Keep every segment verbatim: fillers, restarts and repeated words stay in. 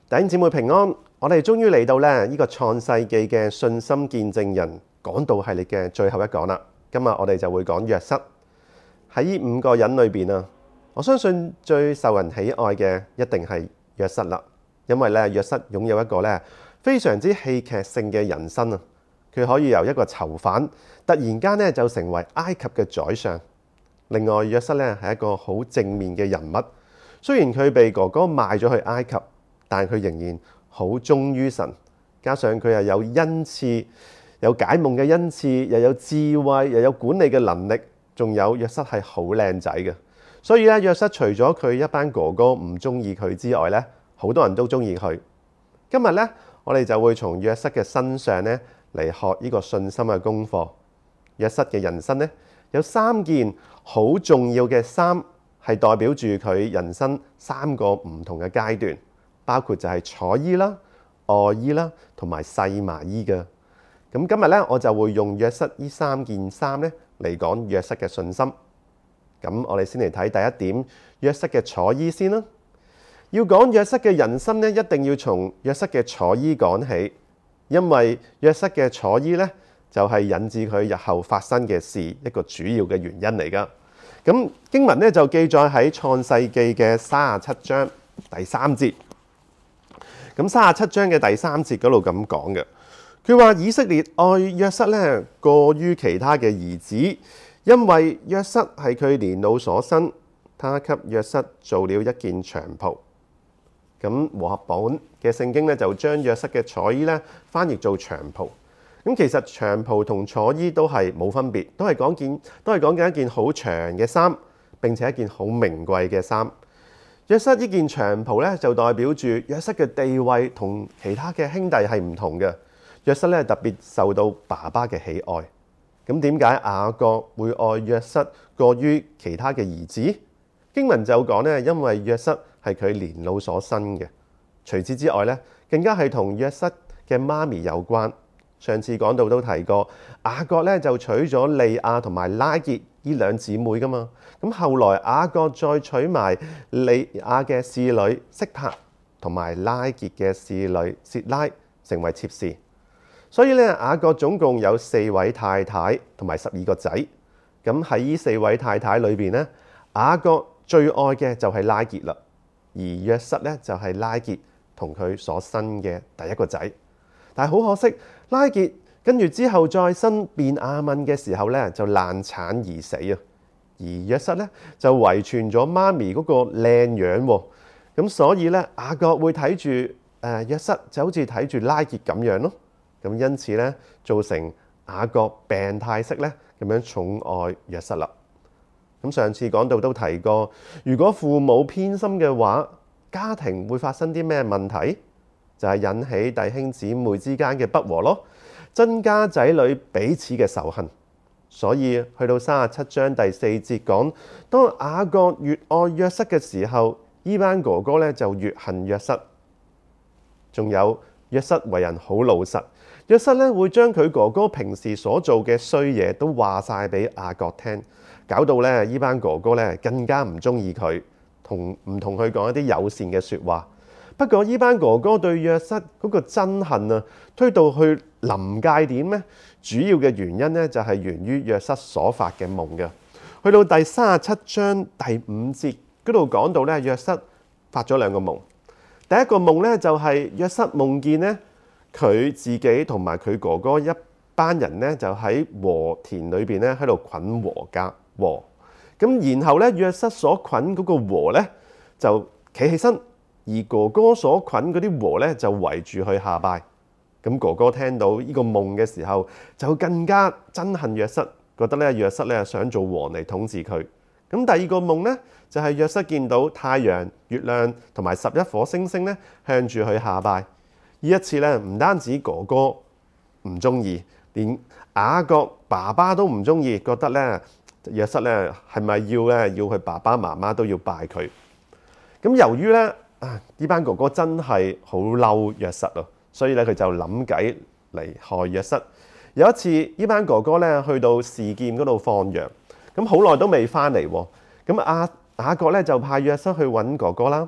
弟兄姊妹平安，我哋終於嚟到咧呢個創世記嘅信心見證人講道系列嘅最後一講啦。今日我哋就會講約瑟。喺呢五個人裏邊啊，我相信最受人喜愛嘅一定係約瑟啦，因為咧約瑟擁有一個咧非常之戲劇性嘅人生啊。佢可以由一個囚犯突然間咧就成為埃及嘅宰相。另外約瑟咧係一個好正面嘅人物，雖然佢被哥哥賣咗去埃及，但佢仍然好忠於神，加上佢又有恩賜，有解夢嘅恩賜，又有智慧，又有管理嘅能力，仲有約瑟係好靚仔嘅。所以咧，約瑟除咗佢一班哥哥唔中意佢之外咧，好多人都中意佢。今日咧，我哋就會從約瑟嘅身上咧嚟學呢個信心嘅功課。約瑟嘅人生咧有三件好重要嘅衫，係代表住佢人生三個唔同嘅階段。包括就係楚衣啦、外衣啦，同埋細麻衣嘅。咁今日咧，我就會用約瑟呢三件衫咧嚟講約瑟嘅信心。咁我哋先嚟睇第一點，約瑟嘅楚衣先啦。要講約瑟嘅人生咧，一定要從約瑟嘅楚衣講起，因為約瑟嘅楚衣咧就係引致佢日後發生嘅事一個主要嘅原因嚟噶。咁經文咧就記載喺創世記嘅三十七章第三節。咁三十七章嘅第三節嗰度咁講嘅，佢話以色列愛約瑟咧過於其他嘅兒子，因為約瑟係佢年老所生，他給約瑟做了一件長袍。咁和合本嘅聖經咧就將約瑟嘅楚衣咧翻譯做長袍。咁其實長袍同楚衣都係冇分別，都係講件都係講緊一件好長嘅衫，並且一件好名貴嘅衫。約瑟呢件長袍咧，就代表住約瑟嘅地位同其他嘅兄弟係唔同嘅。約瑟咧特別受到爸爸嘅喜愛。咁點解雅各會愛約瑟過於其他嘅兒子？經文就講咧，因為約瑟係佢年老所生嘅。除此之外咧，更加係同約瑟嘅媽咪有關。上次講到都提過，雅各咧就娶咗利亞同埋拉結呢兩姊妹噶嘛。咁後來雅各再娶埋利亞嘅侍女色柏同埋拉結嘅侍女薛拉成為妾侍。所以咧，雅各總共有四位太太同埋十二個仔。咁喺呢四位太太裏邊咧，雅各最愛嘅就係拉結啦，而約瑟咧就係拉結同佢所生嘅第一個仔。但係好可惜，拉結跟住之後再生便雅憫嘅時候咧，就難產而死啊。而約瑟咧就遺傳咗媽咪嗰個靚樣喎。咁所以咧，雅各會睇住誒約瑟就好似睇住拉結咁樣咯。咁因此咧，造成雅各病態式咧咁樣寵愛約瑟啦。咁上次講到都提過，如果父母偏心嘅話，家庭會發生啲咩問題？就係引起弟兄姊妹之間嘅不和咯，增加仔女彼此嘅仇恨。所以去到三十七章第四節講，當雅各越愛約瑟嘅時候，呢班哥哥咧就越恨約瑟。仲有約瑟為人好老實，約瑟咧會將佢哥哥平時所做嘅衰嘢都話晒俾雅各聽，搞到咧呢班哥哥咧更加唔中意佢，同唔同佢講一啲友善嘅説話。不過呢班哥哥對約瑟嗰個憎恨啊，推到去臨界點咧，主要嘅原因咧就係源於約瑟所發嘅夢嘅。去到第三十七章第五節嗰度講到咧，約瑟發咗兩個夢。第一個夢咧就係約瑟夢見咧佢自己同埋佢哥哥一班人咧就喺禾田裏邊咧喺度捆禾稼禾。咁然後咧約瑟所捆嗰個禾咧就企起身。而哥哥所捆嗰啲禾咧就圍住佢下拜。咁哥哥聽到呢個夢嘅時候，就更加憎恨約瑟，覺得咧約瑟咧想做王嚟統治佢。咁第二個夢咧就係約瑟見到太陽、月亮同埋十一顆星星咧向住佢下拜。呢一次咧唔單止哥哥唔中意，連雅各爸爸都唔中意，覺得咧約瑟咧係咪要咧要佢爸爸媽媽都要拜佢？咁由於咧啊！呢班哥哥真係好嬲約瑟啊，所以咧佢就諗計嚟害約瑟。有一次，呢班哥哥咧去到示劍嗰度放羊，咁好耐都未翻嚟喎。咁阿雅各咧就派約瑟去揾哥哥啦。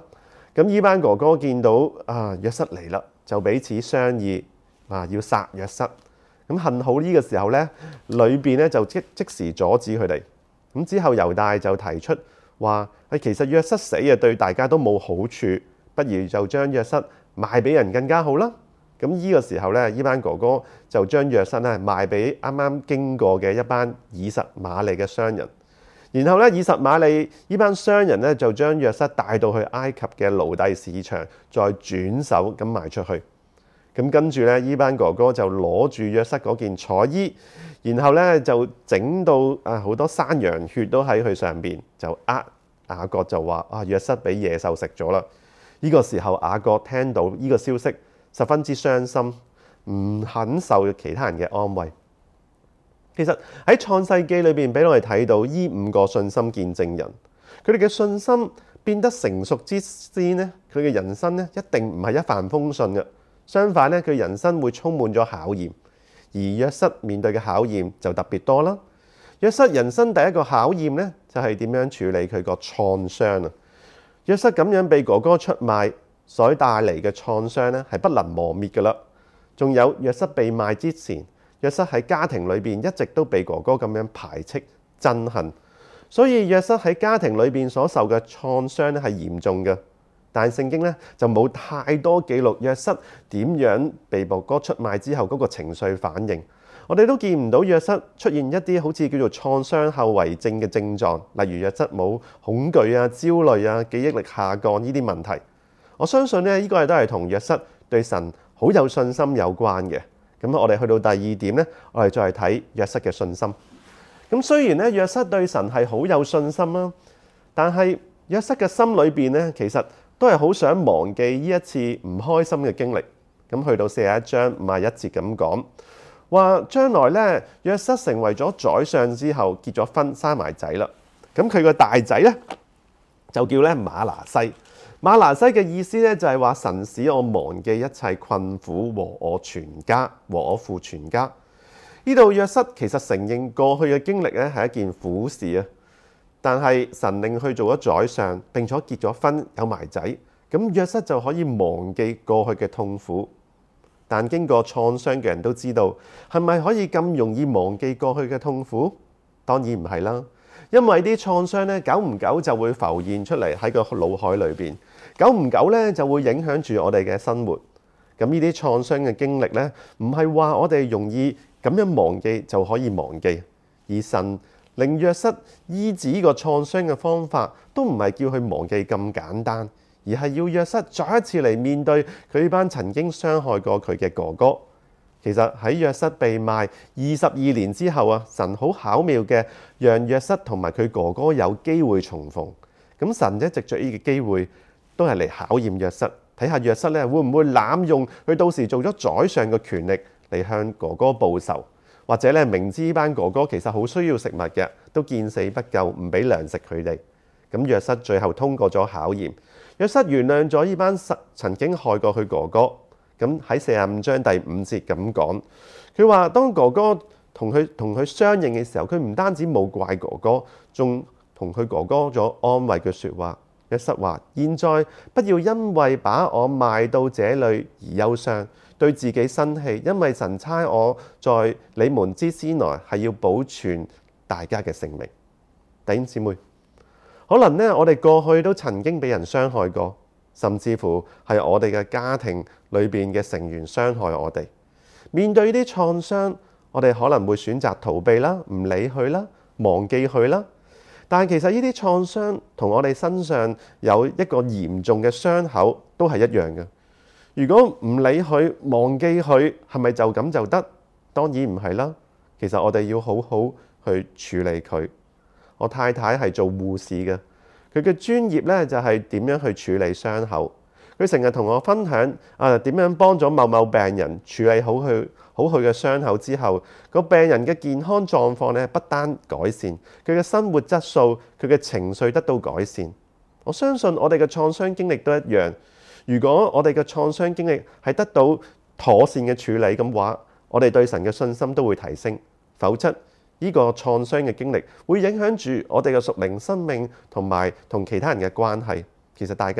咁呢班哥哥見到啊約瑟嚟啦，就彼此商議啊要殺約瑟。咁幸好呢個時候咧，裏邊咧就即即時阻止佢哋。咁之後猶大就提出話：誒其實約瑟死啊對大家都冇好處，不如就將約瑟賣俾人更加好啦。咁呢個時候咧，呢班哥哥就將約瑟咧賣俾啱啱經過嘅一班以實瑪利嘅商人。然後咧，以實瑪利呢班商人咧就將約瑟帶到去埃及嘅奴隸市場，再轉手咁賣出去。咁跟住咧，呢班哥哥就攞住約瑟嗰件彩衣，然後咧就整到啊好多山羊血都喺佢上邊，就呃雅各就話啊約瑟俾野獸食咗啦。呢個時候雅各聽到呢個消息，十分之傷心，唔肯受其他人嘅安慰。其實喺創世記裏邊俾我哋睇到呢五個信心見證人，佢哋嘅信心變得成熟之先呢，佢嘅人生呢一定唔係一帆風順嘅。相反咧，佢人生會充滿咗考驗，而約瑟面對嘅考驗就特別多啦。約瑟人生第一個考驗咧，就係點樣處理佢個創傷啊。約瑟咁樣被哥哥出賣所帶嚟嘅創傷咧，係不能磨滅噶啦。仲有約瑟被賣之前，約瑟喺家庭裏邊一直都被哥哥咁樣排斥憎恨，所以約瑟喺家庭裏邊所受嘅創傷咧係嚴重嘅。但係聖經咧就冇太多記錄約瑟點樣被哥哥出賣之後嗰個情緒反應，我哋都見唔到約瑟出現一啲好似叫做創傷後遺症嘅症狀，例如約瑟冇恐懼啊、焦慮啊、記憶力下降呢啲問題。我相信咧呢個係都係同約瑟對神好有信心有關嘅。咁我哋去到第二點咧，我哋再睇約瑟嘅信心。咁雖然咧約瑟對神係好有信心啦，但係約瑟嘅心裏邊咧其實都係好想忘記呢一次唔開心嘅經歷。咁去到四十一章五十一節咁講，話將來咧約瑟成為咗宰相之後結咗婚生埋仔啦。咁佢個大仔咧就叫咧馬拿西。馬拿西嘅意思咧就係話神使我忘記一切困苦和我全家和我父全家。呢度約瑟其實承認過去嘅經歷咧係一件苦事啊。但係神令佢做咗宰相，並且結咗婚有埋仔，咁約瑟就可以忘記過去嘅痛苦。但經過創傷嘅人都知道，係咪可以咁容易忘記過去嘅痛苦？當然唔係啦，因為啲創傷咧，久唔久就會浮現出嚟喺個腦海裏邊，久唔久咧就會影響住我哋嘅生活。咁呢啲創傷嘅經歷咧，唔係話我哋容易咁樣忘記就可以忘記，而神令約瑟醫治呢個創傷嘅方法，都唔係叫佢忘記咁簡單，而係要約瑟再一次嚟面對佢班曾經傷害過佢嘅哥哥。其實喺約瑟被賣二十二年之後啊，神好巧妙嘅讓約瑟同埋佢哥哥有機會重逢。咁神一藉著呢個機會，都係嚟考驗約瑟，睇下約瑟咧會唔會濫用佢到時做咗宰相嘅權力嚟向哥哥報仇。或者咧明知呢班哥哥其實好需要食物嘅，都見死不救，唔俾糧食佢哋。咁約瑟最後通過咗考驗，約瑟原諒咗呢班曾經害過佢哥哥。咁喺四十五章第五節咁講，佢話當哥哥同佢同佢相認嘅時候，佢唔單止冇怪哥哥，仲同佢哥哥咗安慰嘅説話。約瑟話：現在不要因為把我賣到這裡而憂傷，對自己生氣，因為神差我在你們之先來，係要保存大家嘅性命。弟兄姊妹，可能呢，我哋過去都曾經俾人傷害過，甚至乎係我哋嘅家庭裏邊嘅成員傷害我哋。面對呢啲創傷，我哋可能會選擇逃避啦，唔理佢啦，忘記佢啦。但係其實呢啲創傷同我哋身上有一個嚴重嘅傷口都係一樣嘅。如果唔理佢，忘記佢，係咪就咁就得？當然唔係啦。其實我哋要好好去處理佢。我太太係做護士嘅，佢嘅專業咧就係點樣去處理傷口。佢成日同我分享啊，點樣幫咗某某病人處理好佢好佢嘅傷口之後，個病人嘅健康狀況咧不單改善，佢嘅生活質素、佢嘅情緒得到改善。我相信我哋嘅創傷經歷都一樣。如果我哋嘅創傷經歷係得到妥善嘅處理咁話，我哋對神嘅信心都會提升。否則呢個創傷嘅經歷會影響住我哋嘅屬靈生命同埋同其他人嘅關係。其實大家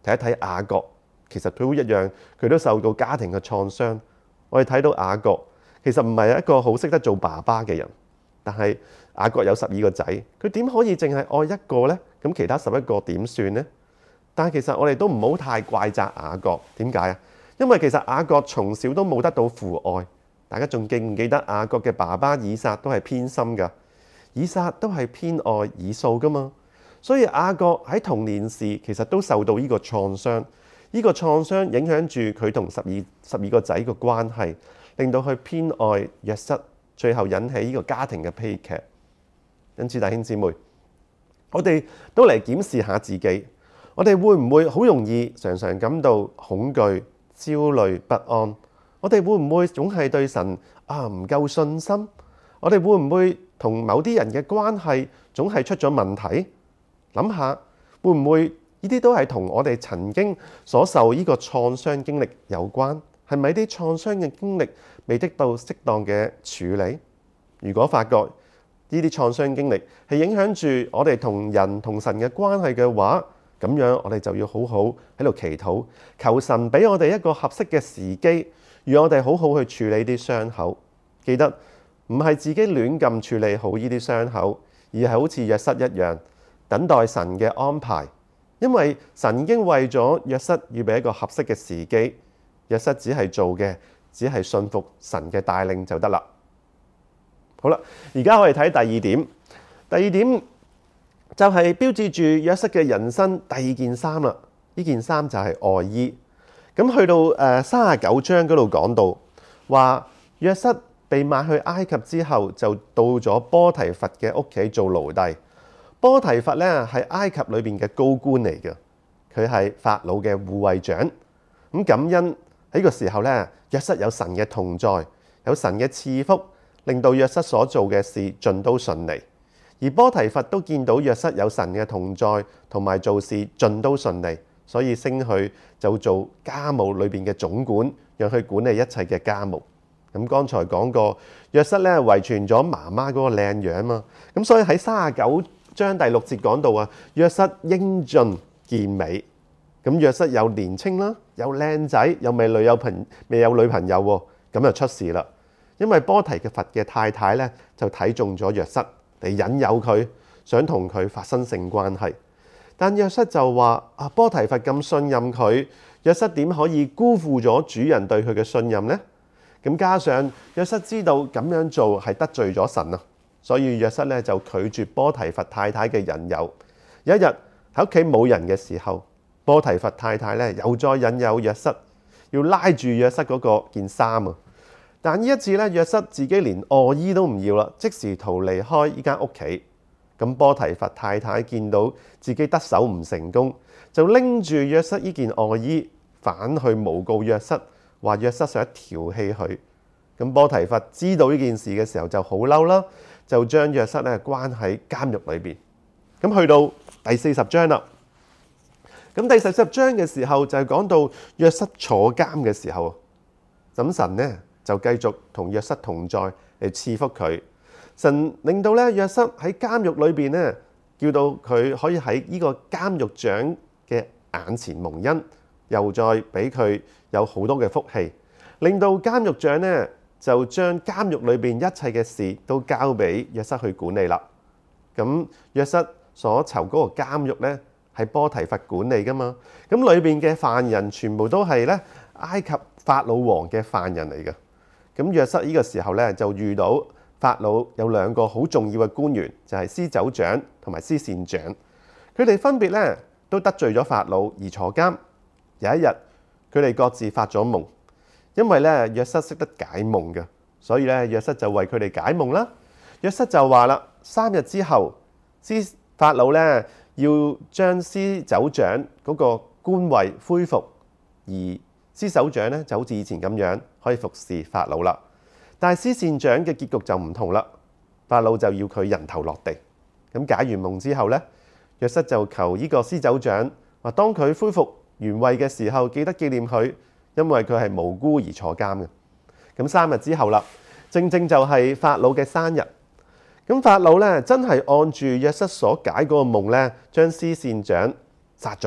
睇一睇雅各，其實佢都一樣，佢都受到家庭嘅創傷。我哋睇到雅各其實唔係一個好識得做爸爸嘅人，但係雅各有十二個仔，佢點可以淨係愛一個呢？咁其他十一個點算呢？但係其實我哋都唔好太怪責雅各，點解啊？因為其實雅各從小都冇得到父愛。大家仲記唔記得雅各嘅爸爸以撒都係偏心㗎？以撒都係偏愛以掃㗎嘛？所以雅各喺童年時其實都受到呢個創傷，呢個創傷影響住佢同十二十二個仔嘅關係，令到佢偏愛約瑟，最後引起呢個家庭嘅悲劇。因此弟兄姊妹，我哋都嚟檢視下自己，我哋會唔會好容易常常感到恐懼、焦慮、不安？我哋會唔會總係對神啊唔夠信心？我哋會唔會同某啲人嘅關係總係出咗問題？諗下會唔會呢啲都係同我哋曾經所受呢個創傷經歷有關？係咪啲創傷嘅經歷未得到適當嘅處理？如果發覺呢啲創傷經歷係影響住我哋同人同神嘅關係嘅話，咁樣我哋就要好好喺度祈禱，求神俾我哋一個合適嘅時機，讓我哋好好去處理啲傷口。記得唔係自己亂咁處理好呢啲傷口，而係好似約瑟一樣，等待神嘅安排，因為神已經為咗約瑟預備一個合適嘅時機，約瑟只係做嘅，只係信服神嘅帶領就得啦。好啦，而家我哋睇第二點，第二點就係標誌住約瑟嘅人生第二件衫啦。呢件衫就係外衣。咁去到誒三十九章嗰度講到話，約瑟被賣去埃及之後，就到咗波提乏嘅屋企做奴隸。波提乏咧係埃及裏邊嘅高官嚟嘅，佢係法老嘅護衛長。咁感恩喺個時候咧，約瑟有神嘅同在，有神嘅賜福，令到約瑟所做嘅事盡都順利。而波提乏都見到約瑟有神嘅同在，同埋做事盡都順利，所以升佢就做家務裏邊嘅總管，讓佢管理一切嘅家務。咁剛才講過，約瑟咧遺傳咗媽媽嗰個靚樣嘛，咁所以喺三十九章第六節講到啊，約瑟英俊健美。咁約瑟又年青啦，又靚仔，又未女有朋未有女朋友喎，咁就出事啦。因為波提乏嘅太太咧就睇中咗約瑟嚟引誘佢，想同佢發生性關係。但約瑟就話：啊，波提乏咁信任佢，約瑟點可以辜負咗主人對佢嘅信任呢？咁加上約瑟知道咁樣做係得罪咗神啊，所以約瑟咧就拒絕波提乏太太嘅引誘。有一日喺屋企冇人嘅時候，波提乏太太咧又再引誘約瑟，要拉住約瑟嗰個件衫啊！但呢一次咧，約瑟自己連外衣都唔要啦，即時逃離開呢間屋企。咁波提乏太太見到自己得手唔成功，就拎住約瑟呢件外衣反去誣告約瑟，話約瑟想調戲佢。咁波提乏知道呢件事嘅時候就好嬲啦，就將約瑟咧關喺監獄裏邊。咁去到第四十章啦。咁第四十章嘅時候就係講到約瑟坐監嘅時候，咁神呢就繼續同約瑟同在嚟賜福佢。神令到咧約瑟喺監獄裏邊咧，叫到佢可以喺呢個監獄長嘅眼前蒙恩，又再俾佢有好多嘅福氣，令到監獄長咧就將監獄裏邊一切嘅事都交俾約瑟去管理啦。咁約瑟所囚嗰個監獄咧係波提乏管理噶嘛，咁裏邊嘅犯人全部都係咧埃及法老王嘅犯人嚟嘅。咁約瑟呢個時候咧就遇到法老有兩個好重要嘅官員，就係司酒長同埋司膳長，佢哋分別咧都得罪咗法老而坐監。有一日，佢哋各自發咗夢，因為咧約瑟識得解夢嘅，所以咧約瑟就為佢哋解夢啦。約瑟就話啦：三日之後，司法老咧要將司酒長嗰個官位恢復，而司酒長咧就好似以前咁樣可以服侍法老啦。但係司膳長嘅結局就唔同啦，法老就要佢人頭落地。咁解完夢之後咧，約瑟就求呢個司酒長話：當佢恢復原位嘅時候，記得紀念佢，因為佢係無辜而坐監嘅。咁三日之後啦，正正就係法老嘅生日。咁法老咧真係按住約瑟所解嗰個夢咧，將司膳長殺咗，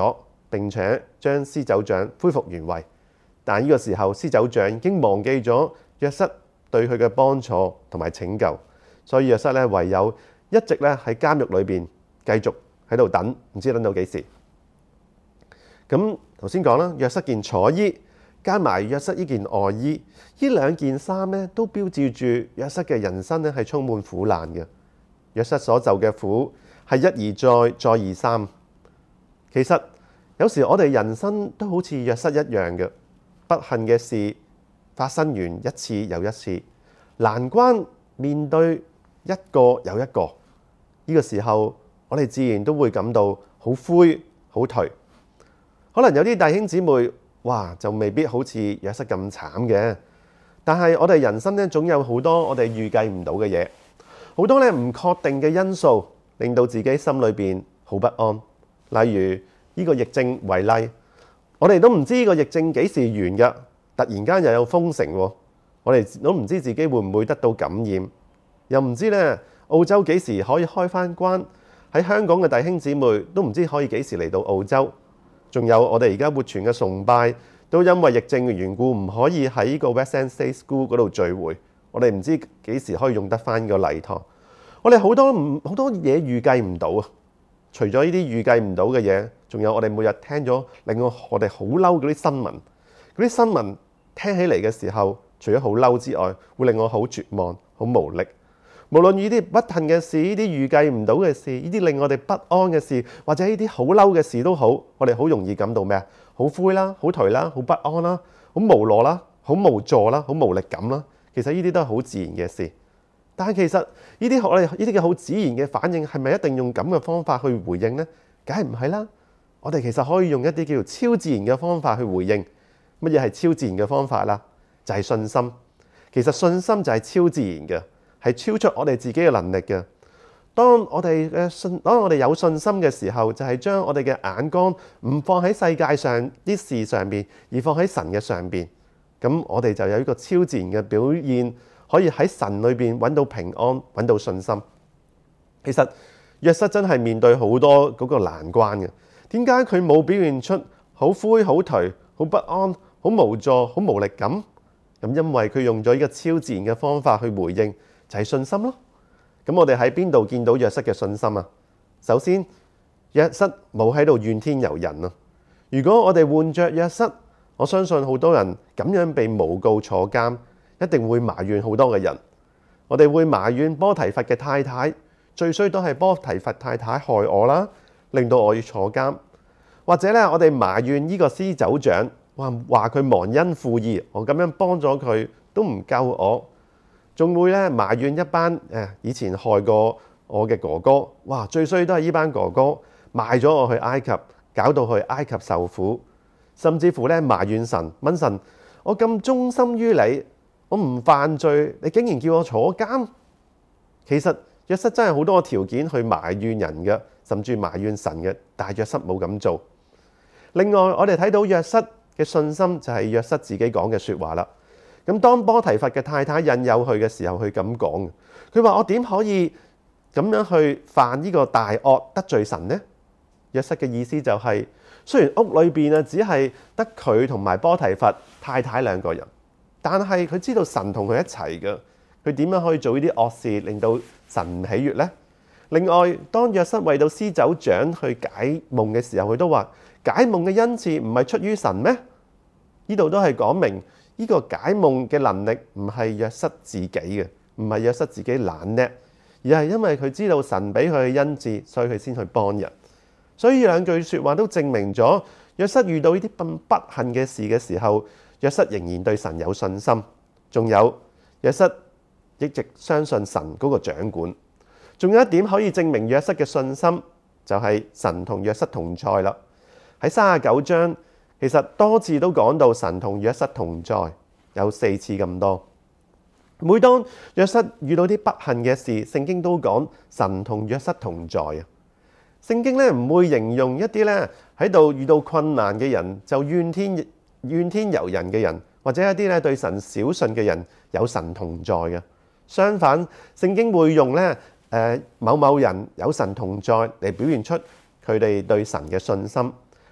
並且將施酒長恢復原位。但呢個時候，施酒長已經忘記咗約瑟對佢嘅幫助同埋拯救，所以約瑟咧唯有一直咧喺監獄裏邊繼續喺度等，唔知等到幾時。咁頭先講啦，約瑟件楚衣加埋約瑟呢件外衣，呢兩件衫咧都標誌住約瑟嘅人生咧係充滿苦難嘅。約瑟所受嘅苦係一而再，再而三。其實有時我哋人生都好似約瑟一樣嘅，不幸嘅事發生完一次又一次，難關面對一個又一個，呢個時候我哋自然都會感到好灰好頹。可能有啲弟兄姊妹，哇，就未必好似約瑟咁慘嘅，但係我哋人生咧總有好多我哋預計唔到嘅嘢，好多咧唔確定嘅因素，令到自己心裏邊好不安。例如呢個疫症為例，我哋都唔知呢個疫症幾時完㗎，突然間又有封城喎，我哋都唔知自己會唔會得到感染，又唔知咧澳洲幾時可以開返關，喺香港嘅弟兄姊妹都唔知可以幾時嚟到澳洲。仲有我哋而家活泉嘅崇拜，都因為疫症嘅緣故，唔可以喺呢個 Western State School 嗰度聚會。我哋唔知幾時可以用得翻呢個禮堂。我哋好多唔好多嘢預計唔到啊！除咗呢啲預計唔到嘅嘢，仲有我哋每日聽咗令我我哋好嬲嗰啲新聞。嗰啲新聞聽起嚟嘅時候，除咗好嬲之外，會令我好絕望、好無力。無論呢啲不幸嘅事，呢啲預計唔到嘅事，呢啲令我哋不安嘅事，或者呢啲好嬲嘅事都好，我哋好容易感到咩啊？好灰啦，好頹啦，好不安啦，好無奈啦，好無助啦，好無力感啦。其實呢啲都係好自然嘅事。但係其實呢啲我哋呢啲嘅好自然嘅反應，係咪一定用咁嘅方法去回應呢？梗係唔係啦。我哋其實可以用一啲叫做超自然嘅方法去回應。乜嘢係超自然嘅方法啦？就係信心。其實信心就係超自然嘅。係超出我哋自己嘅能力嘅。當我哋嘅信，當我哋有信心嘅時候，就係將我哋嘅眼光唔放喺世界上啲事上邊，而放喺神嘅上邊。咁我哋就有一個超自然嘅表現，可以喺神裏邊揾到平安，揾到信心。其實約瑟真係面對好多嗰個難關嘅。點解佢冇表現出好灰、好頹、好不安、好無助、好無力感？咁因為佢用咗一個超自然嘅方法去回應。就係信心咯。咁我哋喺邊度見到約瑟嘅信心啊？首先，約瑟冇喺度怨天尤人啊。如果我哋換着約瑟，我相信好多人咁樣被誣告坐監，一定會埋怨好多嘅人。我哋會埋怨波提乏嘅太太，最衰都係波提乏太太害我啦，令到我要坐監。或者咧，我哋埋怨呢個施酒長，話話佢忘恩負義，我咁樣幫咗佢都唔救我。仲會咧埋怨一班誒以前害過我嘅哥哥，哇！最衰都係呢班哥哥賣咗我去埃及，搞到去埃及受苦，甚至乎咧埋怨神，問神：我咁忠心於你，我唔犯罪，你竟然叫我坐監？其實約瑟真係好多條件去埋怨人嘅，甚至埋怨神嘅，但係約瑟冇咁做。另外，我哋睇到約瑟嘅信心就係約瑟自己講嘅説話啦。咁當波提乏嘅太太引誘佢嘅時候，佢咁講，佢話：我點可以咁樣去犯呢個大惡得罪神呢？約瑟嘅意思就係，雖然屋裏邊啊只係得佢同埋波提乏太太兩個人，但係佢知道神同佢一齊嘅，佢點樣可以做呢啲惡事令到神唔喜悅呢？另外，當約瑟為到施酒長去解夢嘅時候，佢都話：解夢嘅恩賜唔係出於神咩？呢度都係講明。呢個解夢嘅能力唔係約瑟自己嘅，唔係約瑟自己懶叻，而係因為佢知道神俾佢嘅恩賜，所以佢先去幫人。所以兩句説話都證明咗約瑟遇到呢啲咁不幸嘅事嘅時候，約瑟仍然對神有信心。仲有約瑟一直相信神嗰個掌管。仲有一點可以證明約瑟嘅信心，就係神同約瑟同在啦。喺三十九章。其實多次都講到神同約瑟同在，有四次咁多。每當約瑟遇到啲不幸嘅事，聖經都講神同約瑟同在啊。聖經咧唔會形容一啲咧喺度遇到困難嘅人就怨天怨天尤人嘅人，或者一啲咧對神小信嘅人有神同在嘅。相反，聖經會用咧誒某某人有神同在嚟表現出佢哋對神嘅信心。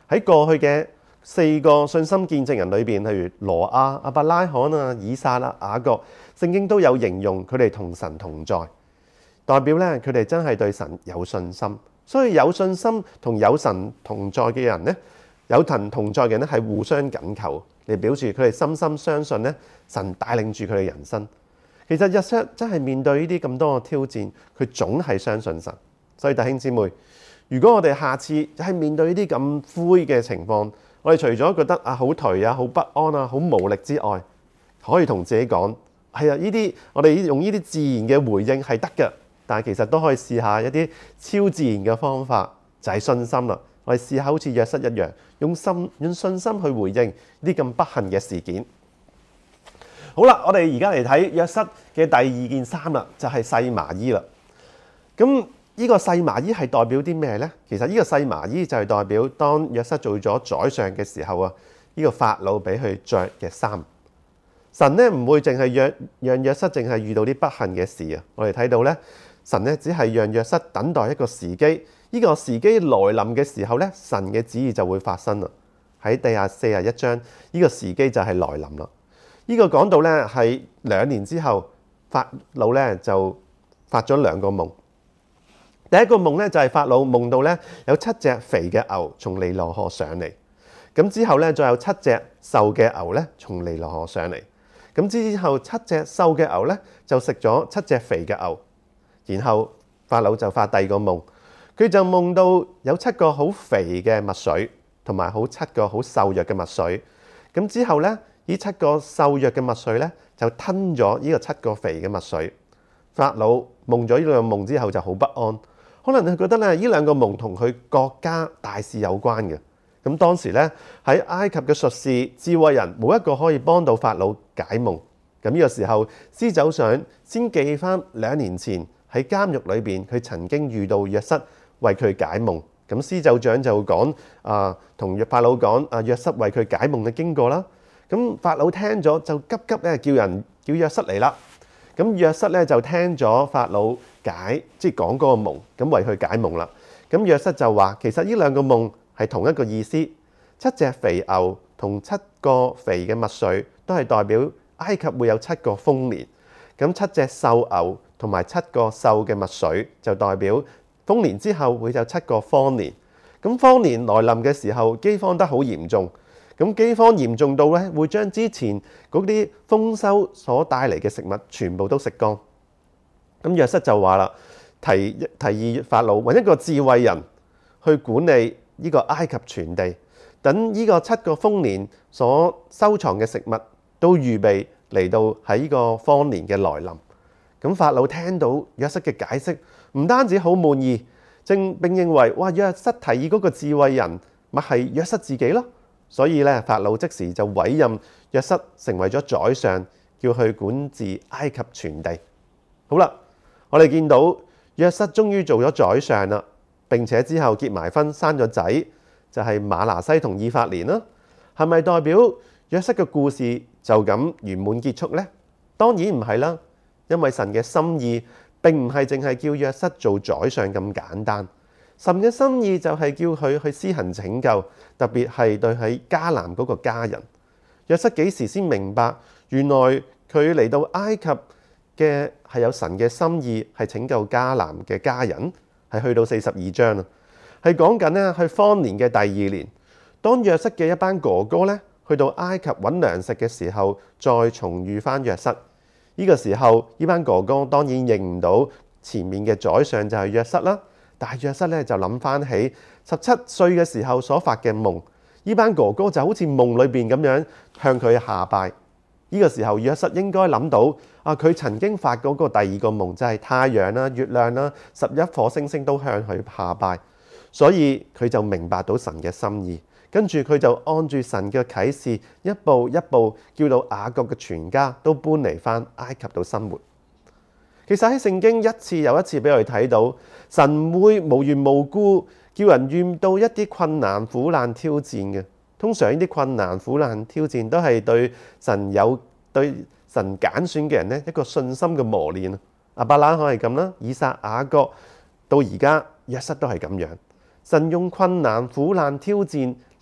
喺過去嘅四個信心見證人裏邊，例如羅亞、亞伯拉罕啊、以撒啊、雅各，聖經都有形容佢哋同神同在，代表咧佢哋真係對神有信心。所以有信心同有神同在嘅人咧，有神同在嘅人咧係互相緊扣，嚟表示佢哋深深相信咧神帶領住佢哋人生。其實約瑟真係面對呢啲咁多嘅挑戰，佢總係相信神。所以弟兄姊妹，如果我哋下次喺面對呢啲咁灰嘅情況，我哋除咗覺得啊好頹啊、好不安啊、好無力之外，可以同自己講：係啊，呢啲我哋用呢啲自然嘅回應係得嘅。但係其實都可以試下一啲超自然嘅方法，就係信心啦。我哋試下好似約瑟一樣，用心用信心去回應呢啲咁不幸嘅事件。好啦，我哋而家嚟睇約瑟嘅第二件衫啦，就係細麻衣啦。咁呢個細麻衣係代表啲咩呢？其實呢個細麻衣就係代表當約瑟做咗宰相嘅時候啊，呢個法老俾佢着嘅衫。神咧唔會淨係讓讓約瑟淨係遇到啲不幸嘅事啊！我哋睇到咧，神咧只係讓約瑟等待一個時機，呢個時機來臨嘅時候咧，神嘅旨意就會發生啦。喺第廿四十一章，呢個時機就係來臨啦。呢個講到咧係兩年之後，法老咧就發咗兩個夢。第一個夢咧就係法老夢到咧有七隻肥嘅牛從尼羅河上嚟，咁之後咧再有七隻瘦嘅牛咧從尼羅河上嚟。咁之後七隻瘦嘅牛咧就食咗七隻肥嘅牛，然後法老就發第二個夢，佢就夢到有七個好肥嘅麥穗，同埋好七個好瘦弱嘅麥穗。咁之後咧，呢七個瘦弱嘅麥穗咧就吞咗呢個七個肥嘅麥穗。法老夢咗呢兩個夢之後就好不安，可能佢覺得咧呢兩個夢同佢國家大事有關嘅。咁當時咧喺埃及嘅術士、智慧人冇一個可以幫到法老解夢。咁呢個時候，司走上先記翻兩年前喺監獄裏邊，佢曾經遇到約瑟為佢解夢。咁司走長就講啊，同法老講啊，約瑟為佢解夢嘅經過啦。咁法老聽咗就急急咧叫人叫約瑟嚟啦。咁約瑟咧就聽咗法老解，即係講嗰個夢，咁為佢解夢啦。咁約瑟就話其實呢兩個夢係同一個意思，七隻肥牛同七個肥嘅麥穗都係代表埃及會有七個豐年，咁七隻瘦牛同埋七個瘦嘅麥穗就代表豐年之後會有七個荒年。咁荒年來臨嘅時候，饑荒得好嚴重，咁饑荒嚴重到咧會將之前嗰啲豐收所帶嚟嘅食物全部都食光。咁約瑟就話啦，提提議法老揾一個智慧人去管理呢個埃及全地，等呢個七個豐年所收藏嘅食物都預備嚟到喺呢個荒年嘅來臨。咁法老聽到約瑟嘅解釋，唔單止好滿意，正並認為哇，約瑟提議嗰個智慧人咪係約瑟自己咯。所以咧，法老即時就委任約瑟成為咗宰相，叫佢管治埃及全地。好啦，我哋見到約瑟終於做咗宰相啦。並且之後結埋婚，生咗仔，就係馬拿西同以法蓮啦。係咪代表約瑟嘅故事就咁圓滿結束呢？當然唔係啦，因為神嘅心意並唔係淨係叫約瑟做宰相咁簡單。神嘅心意就係叫佢去施行拯救，特別係對喺迦南嗰個家人。約瑟幾時先明白，原來佢嚟到埃及嘅係有神嘅心意，係拯救迦南嘅家人。係去到四十二章啦，係講緊咧去荒年嘅第二年，當約瑟嘅一班哥哥咧去到埃及揾糧食嘅時候，再重遇翻約瑟。呢個時候，呢班哥哥當然認唔到前面嘅宰相就係約瑟啦。但係約瑟咧就諗翻起十七歲嘅時候所發嘅夢，呢班哥哥就好似夢裏邊咁樣向佢下拜。呢個時候，約瑟應該諗到啊，佢曾經發嗰個第二個夢就係太陽啦、月亮啦、十一顆星星都向佢下拜，所以佢就明白到神嘅心意。跟住佢就按住神嘅啟示，一步一步叫到雅各嘅全家都搬嚟翻埃及度生活。其實喺聖經一次又一次俾我哋睇到，神會無緣無故叫人遇到一啲困難、苦難、挑戰嘅。通常呢啲困難、苦難、挑戰都係對神有對神揀選嘅人咧一個信心嘅磨練。亞伯拉罕係咁啦，以撒、雅各到而家約瑟都係咁樣。神用困難、苦難、挑戰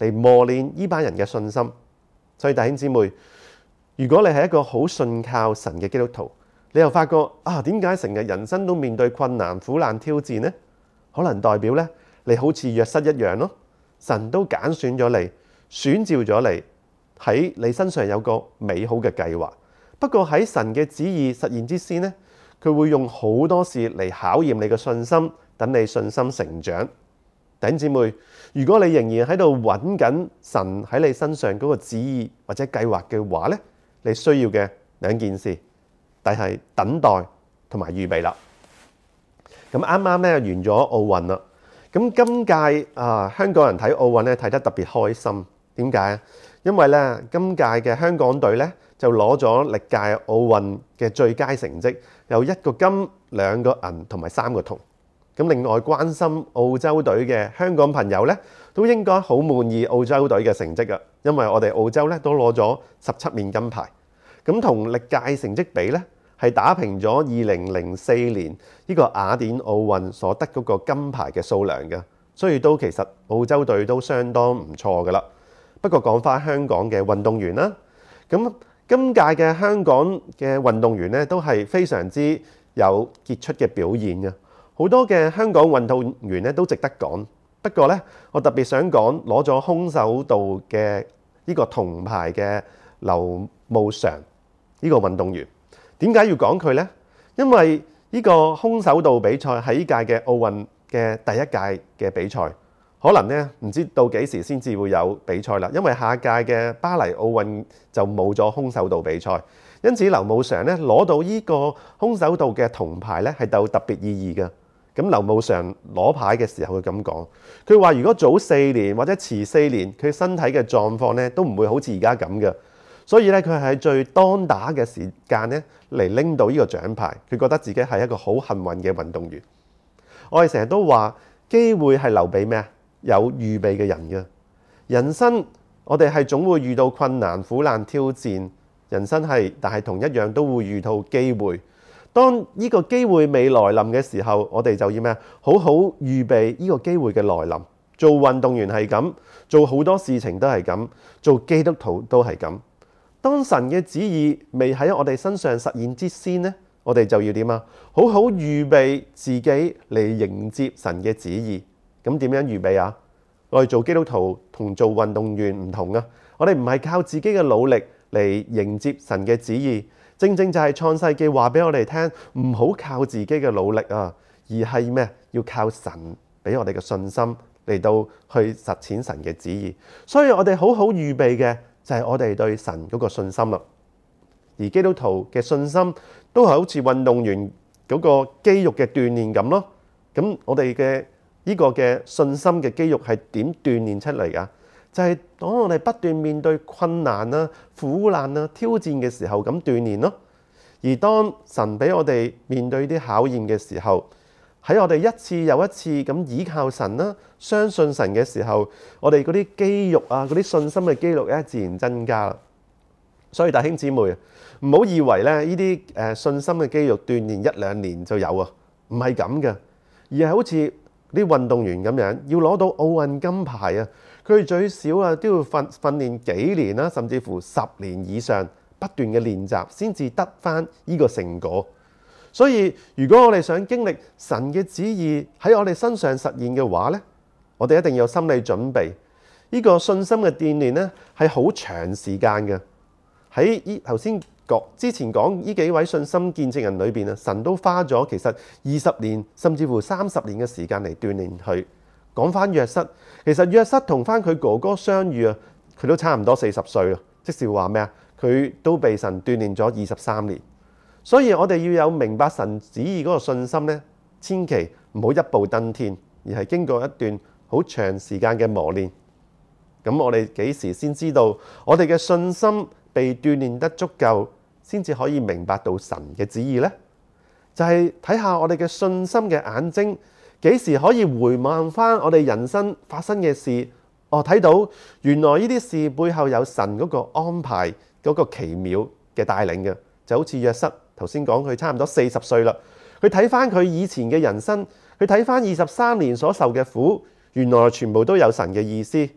嚟磨練呢班人嘅信心。所以弟兄姊妹，如果你係一個好信靠神嘅基督徒，你又發覺啊，點解成日人生都面對困難、苦難、挑戰呢？可能代表咧，你好似約瑟一樣咯，神都揀選咗你，選召咗你，喺你身上有個美好嘅計劃。不過喺神嘅旨意實現之先呢，佢會用好多事嚟考驗你嘅信心，等你信心成長。弟兄姊妹，如果你仍然喺度揾緊神喺你身上嗰個旨意或者計劃嘅話咧，你需要嘅兩件事，但係等待同埋預備啦。咁啱啱咧完咗奧運啦，咁今屆啊香港人睇奧運咧睇得特別開心。點解啊？因為咧今屆嘅香港隊咧就攞咗歷屆奧運嘅最佳成績，有一個金、兩個銀同埋三個銅。咁另外關心澳洲隊嘅香港朋友咧，都應該好滿意澳洲隊嘅成績啊，因為我哋澳洲咧都攞咗十七面金牌。咁同歷屆成績比咧，係打平咗二零零四年呢個雅典奧運所得嗰個金牌嘅數量嘅，所以都其實澳洲隊都相當唔錯噶啦。不過講翻香港嘅運動員啦，咁今屆嘅香港嘅運動員咧都係非常之有傑出嘅表現嘅，好多嘅香港運動員咧都值得講。不過咧，我特別想講攞咗空手道嘅呢個銅牌嘅劉慕裳呢個運動員。點解要講佢呢？因為呢個空手道比賽喺呢屆嘅奧運嘅第一屆嘅比賽，可能咧唔知到幾時先至會有比賽啦。因為下一屆嘅巴黎奧運就冇咗空手道比賽，因此劉慕裳咧攞到呢個空手道嘅銅牌咧係有特別意義嘅。咁劉慕裳攞牌嘅時候佢咁講，佢話如果早四年或者遲四年，佢身體嘅狀況咧都唔會好似而家咁嘅。所以咧，佢係喺最當打嘅時間咧嚟拎到呢個獎牌，佢覺得自己係一個好幸運嘅運動員。我哋成日都話機會係留俾咩啊？有預備嘅人嘅。人生我哋係總會遇到困難、苦難、挑戰，人生係，但係同一樣都會遇到機會。當呢個機會未來臨嘅時候，我哋就要咩啊？好好預備呢個機會嘅來臨。做運動員係咁，做好多事情都係咁，做基督徒都係咁。當神嘅旨意未喺我哋身上實現之先呢，我哋就要點啊？好好預備自己嚟迎接神嘅旨意。咁點樣預備啊？我哋做基督徒同做運動員唔同啊！我哋唔係靠自己嘅努力嚟迎接神嘅旨意，正正就係創世記話俾我哋聽，唔好靠自己嘅努力啊，而係咩？要靠神俾我哋嘅信心嚟到去實踐神嘅旨意。所以我哋好好預備嘅就係我哋對神嗰個信心啦。而基督徒嘅信心都係好似運動員嗰個肌肉嘅鍛鍊咁咯。咁我哋嘅呢個嘅信心嘅肌肉係點鍛鍊出嚟㗎？就係當我哋不斷面對困難啊、苦難啊、挑戰嘅時候咁鍛鍊咯。而當神俾我哋面對啲考驗嘅時候，喺我哋一次又一次咁倚靠神啦、相信神嘅時候，我哋嗰啲肌肉啊、嗰啲信心嘅肌肉咧，自然增加啦。所以弟兄姊妹，唔好以為咧呢啲誒信心嘅肌肉鍛鍊一兩年就有啊，唔係咁嘅，而係好似啲運動員咁樣，要攞到奧運金牌啊，佢哋最少啊都要訓訓練幾年啦，甚至乎十年以上不斷嘅練習，先至得返呢個成果。所以如果我哋想經歷神嘅旨意喺我哋身上實現嘅話咧，我哋一定要有心理準備。呢個信心嘅鍛鍊咧係好長時間嘅。喺依頭先講之前講呢幾位信心見證人裏邊啊，神都花咗其實二十年甚至乎三十年嘅時間嚟鍛鍊佢。講翻約瑟，其實約瑟同翻佢哥哥相遇啊，佢都差唔多四十歲啦。即是話咩啊？佢都被神鍛鍊咗二十三年。所以我哋要有明白神旨意嗰個信心咧，千祈唔好一步登天，而係經過一段好長時間嘅磨練。咁我哋幾時先知道我哋嘅信心被鍛鍊得足夠，先至可以明白到神嘅旨意呢？就係睇下我哋嘅信心嘅眼睛，幾時可以回望翻我哋人生發生嘅事？哦，睇到原來呢啲事背後有神嗰個安排，嗰個奇妙嘅帶領嘅，就好似約瑟。頭先講佢差唔多四十歲啦，佢睇翻佢以前嘅人生，佢睇翻二十三年所受嘅苦，原來全部都有神嘅意思。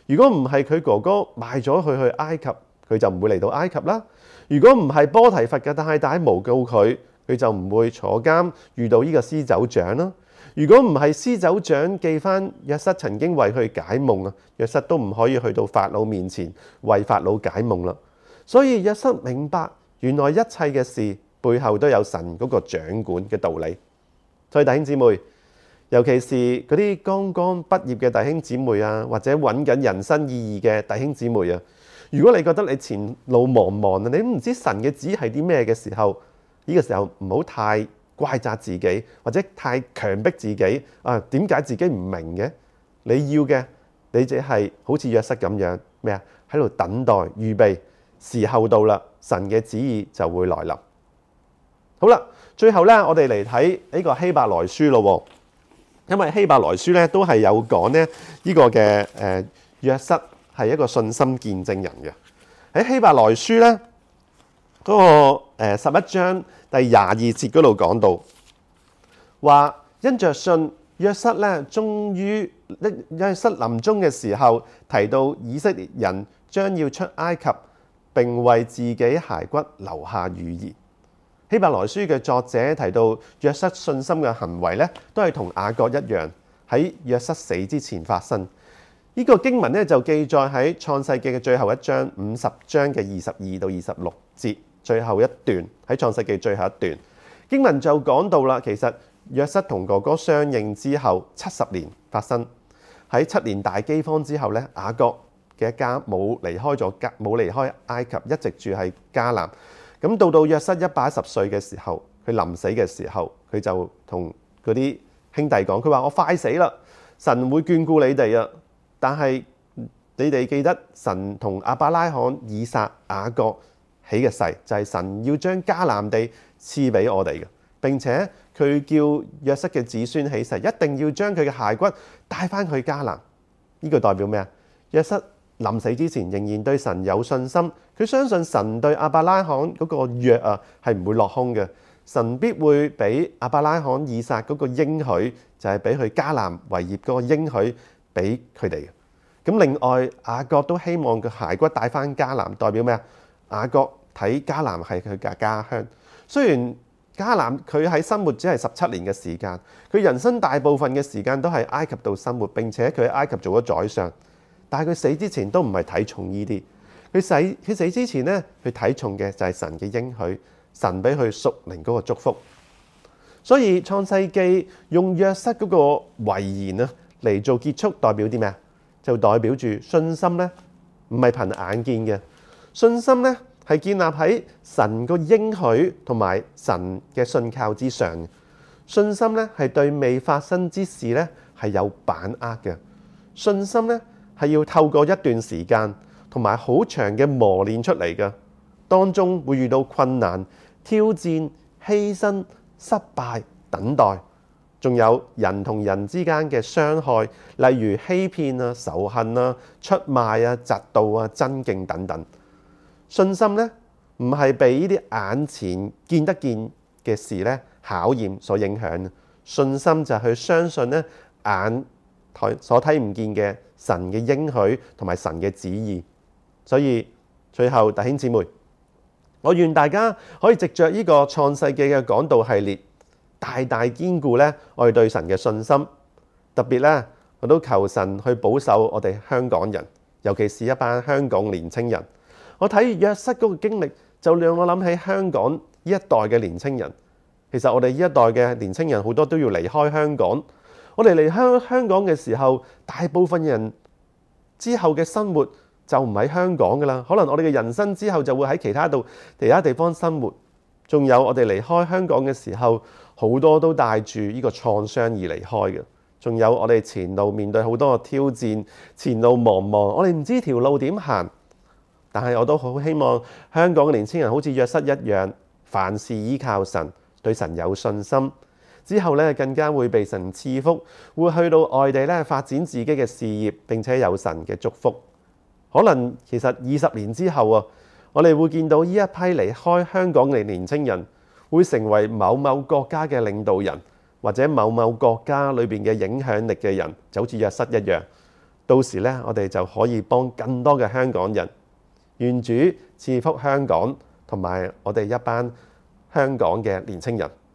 如果唔係佢哥哥賣咗佢去埃及，佢就唔會嚟到埃及啦。如果唔係波提乏嘅太太誣告佢，佢就唔會坐監遇到呢個司酒長啦。如果唔係司酒長記翻約瑟曾經為佢解夢啊，約瑟都唔可以去到法老面前為法老解夢啦。所以約瑟明白原來一切嘅事背後都有神嗰個掌管嘅道理。所以弟兄姊妹，尤其是嗰啲剛剛畢業嘅弟兄姊妹啊，或者揾緊人生意義嘅弟兄姊妹啊，如果你覺得你前路茫茫啊，你都唔知神嘅旨意係啲咩嘅時候，呢個時候唔好太怪責自己，或者太強迫自己啊，點解自己唔明嘅？你要嘅，你只係好似約瑟咁樣咩啊？喺度等待預備，時候到啦，神嘅旨意就會來臨。好啦，最後咧，我哋嚟睇呢個希伯來書咯。因為希伯來書咧都係有講咧呢個嘅誒約瑟係一個信心見證人嘅。喺希伯來書咧嗰個誒十一章第廿二節嗰度講到，話因着信約瑟咧，終於約瑟臨終嘅時候提到以色列人將要出埃及，並為自己骸骨留下預言。希伯來書嘅作者提到約瑟信心嘅行為咧，都係同雅各一樣喺約瑟死之前發生。呢、這個經文咧就記載喺創世記嘅最後一章五十章嘅二十二到二十六節最後一段，喺創世記最後一段經文就講到啦。其實約瑟同哥哥相認之後七十年發生，喺七年大饑荒之後咧，雅各嘅一家冇離開咗迦冇離開埃及，一直住喺迦南。咁到到約瑟一百一十歲嘅時候，佢臨死嘅時候，佢就同嗰啲兄弟講，佢話我快死啦，神會眷顧你哋啊！但係你哋記得神同亞伯拉罕、以撒、雅各起嘅誓，就係、是、神要將迦南地賜俾我哋嘅。並且佢叫約瑟嘅子孫起誓，一定要將佢嘅骸骨帶翻去迦南。呢、這個代表咩啊？約瑟臨死之前仍然對神有信心，佢相信神對亞伯拉罕嗰個約啊係唔會落空嘅，神必會俾亞伯拉罕、以撒嗰個應許，就係俾佢迦南為業嗰個應許俾佢哋嘅。咁另外雅各都希望佢骸骨帶翻迦南，代表咩啊？雅各睇迦南係佢嘅家鄉，雖然迦南佢喺生活只係十七年嘅時間，佢人生大部分嘅時間都喺埃及度生活，並且佢喺埃及做咗宰相。但係佢死之前都唔係睇重呢啲，佢死佢死之前咧，佢睇重嘅就係神嘅應許，神俾佢屬靈嗰個祝福。所以創世記用約瑟嗰個遺言啊嚟做結束，代表啲咩啊？就代表住信心咧，唔係憑眼見嘅，信心咧係建立喺神個應許同埋神嘅信靠之上。信心咧係對未發生之事咧係有把握嘅，信心咧係要透過一段時間同埋好長嘅磨練出嚟嘅，當中會遇到困難、挑戰、犧牲、失敗、等待，仲有人同人之間嘅傷害，例如欺騙啊、仇恨啊、出賣啊、嫉妒啊、爭競等等。信心咧唔係被呢啲眼前見得見嘅事咧考驗所影響，信心就係去相信咧眼所睇唔見嘅神嘅應許同埋神嘅旨意。所以最後弟兄姊妹，我願大家可以藉着呢個創世記嘅講道系列，大大堅固咧我哋對神嘅信心。特別咧，我都求神去保守我哋香港人，尤其是一班香港年青人。我睇約瑟嗰個經歷，就讓我諗起香港呢一代嘅年青人。其實我哋呢一代嘅年青人好多都要離開香港。我哋離開香港嘅時候，大部分人之後嘅生活就唔喺香港噶啦。可能我哋嘅人生之後就會喺其他度其他地方生活。仲有我哋離開香港嘅時候，好多都帶住呢個創傷而離開嘅。仲有我哋前路面對好多嘅挑戰，前路茫茫，我哋唔知條路點行。但係我都好希望香港嘅年輕人好似約瑟一樣，凡事依靠神，對神有信心。之後咧，更加會被神賜福，會去到外地咧發展自己嘅事業，並且有神嘅祝福。可能其實二十年之後啊，我哋會見到呢一批離開香港嘅年青人，會成為某某國家嘅領導人，或者某某國家裏邊嘅影響力嘅人，就好似約瑟一樣。 到時咧，我哋就可以幫更多嘅香港人。願主賜福香港同埋我哋一班香港嘅年青人。